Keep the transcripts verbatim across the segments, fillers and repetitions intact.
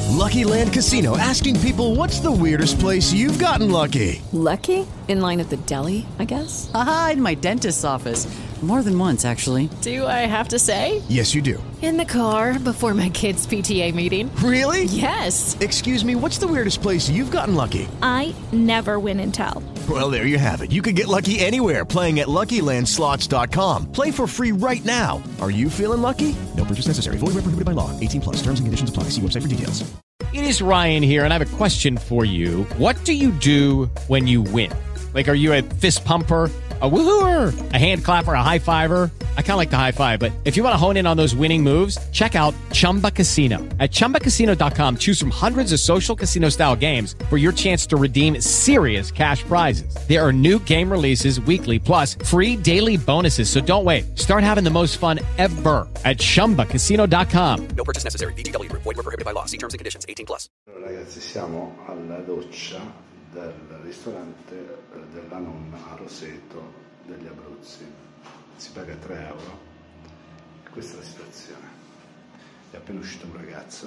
Lucky Land Casino, asking people, what's the weirdest place you've gotten lucky? Lucky? In line at the deli, I guess? Aha, in my dentist's office. More than once, actually. Do I have to say? Yes, you do. In the car before my kids' P T A meeting. Really? Yes. Excuse me, what's the weirdest place you've gotten lucky? I never win and tell. Well, there you have it. You can get lucky anywhere, playing at Lucky Land Slots dot com. Play for free right now. Are you feeling lucky? No purchase necessary. Void where prohibited by law. eighteen plus. Terms and conditions apply. See website for details. It is Ryan here, and I have a question for you. What do you do when you win? Like, are you a fist pumper, a woohooer, a hand clapper, a high fiver? I kind of like the high five, but if you want to hone in on those winning moves, check out Chumba Casino. At Chumba Casino dot com, choose from hundreds of social casino-style games for your chance to redeem serious cash prizes. There are new game releases weekly, plus free daily bonuses, so don't wait. Start having the most fun ever at Chumba Casino dot com. No purchase necessary. V G W. Void where prohibited by law. See terms and conditions. eighteen plus. Allora, ragazzi, siamo alla doccia del ristorante della nonna a Roseto degli Abruzzi. Si paga tre euro. E questa è la situazione. È appena uscito un ragazzo.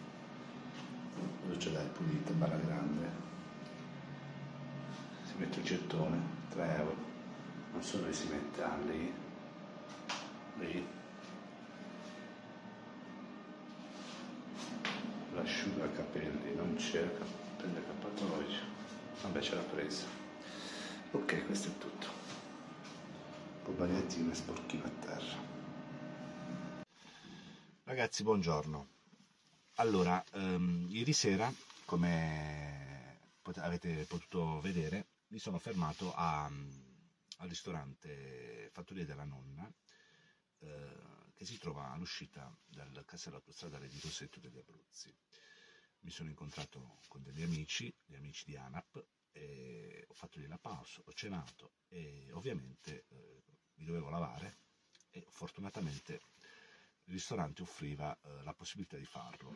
La doccia dai pulita, bella grande. Si mette il gettone, tre euro. Non so dove si mette, ah, lì. Lì. L'asciugacapelli non c'era, capelli accappatoio, vabbè ce l'ha presa. Ok, questo è tutto. Un po' bagnetino e sporchino a terra. Ragazzi, buongiorno. Allora, um, ieri sera, come pot- avete potuto vedere, mi sono fermato a, al ristorante Fattoria della Nonna, eh, che si trova all'uscita dal casello autostradale di Roseto degli Abruzzi. Mi sono incontrato con degli amici, gli amici di ANAP, e ho fatto lì la pausa, ho cenato e ovviamente eh, mi dovevo lavare e fortunatamente il ristorante offriva eh, la possibilità di farlo.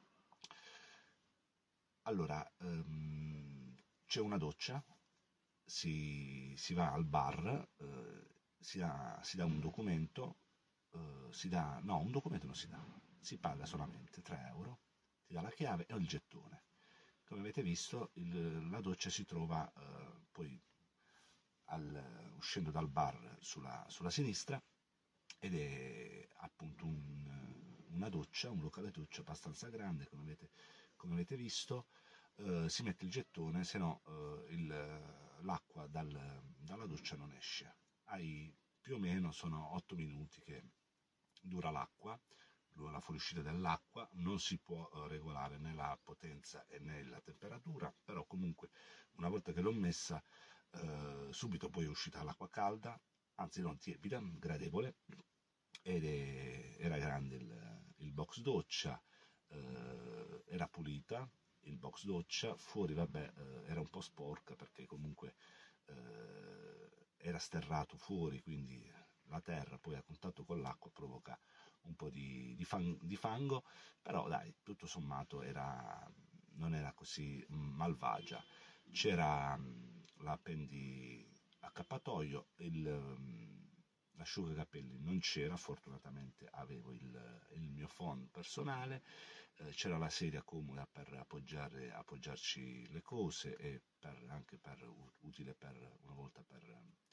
Allora, ehm, c'è una doccia, si, si va al bar, eh, si, dà, si dà un documento, Uh, si dà, no, un documento non si dà, si paga solamente tre euro, si dà la chiave e il gettone. Come avete visto, il, la doccia si trova uh, poi al, uscendo dal bar sulla, sulla sinistra, ed è appunto un, una doccia, un locale doccia abbastanza grande, come avete, come avete visto. Uh, si mette il gettone, se no uh, il, l'acqua dal, dalla doccia non esce. Hai più o meno, sono otto minuti che dura l'acqua, la fuoriuscita dell'acqua. Non si può uh, regolare né la potenza e né la temperatura, però comunque una volta che l'ho messa uh, subito poi è uscita l'acqua calda, anzi non tiepida, gradevole, ed è, era grande il, il box doccia, uh, era pulita il box doccia, fuori vabbè uh, era un po' sporca perché comunque uh, era sterrato fuori, quindi la terra poi a contatto con l'acqua provoca un po' di, di, fang, di fango, però dai, tutto sommato era, non era così malvagia. C'era l'appendi accappatoio, il, l'asciugacapelli non c'era, fortunatamente avevo il, il mio phon personale, eh, c'era la sedia comoda per appoggiare, appoggiarci le cose e per, anche per, utile per una volta per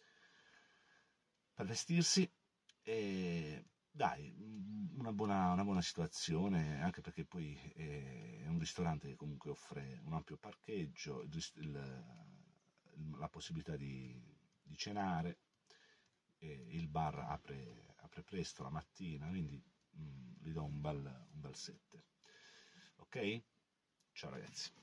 per vestirsi. E dai, una buona, una buona situazione, anche perché poi è un ristorante che comunque offre un ampio parcheggio, il, il, la possibilità di, di cenare, e il bar apre, apre presto la mattina, quindi mh, gli do un bel, un bel sette. Ok? Ciao ragazzi.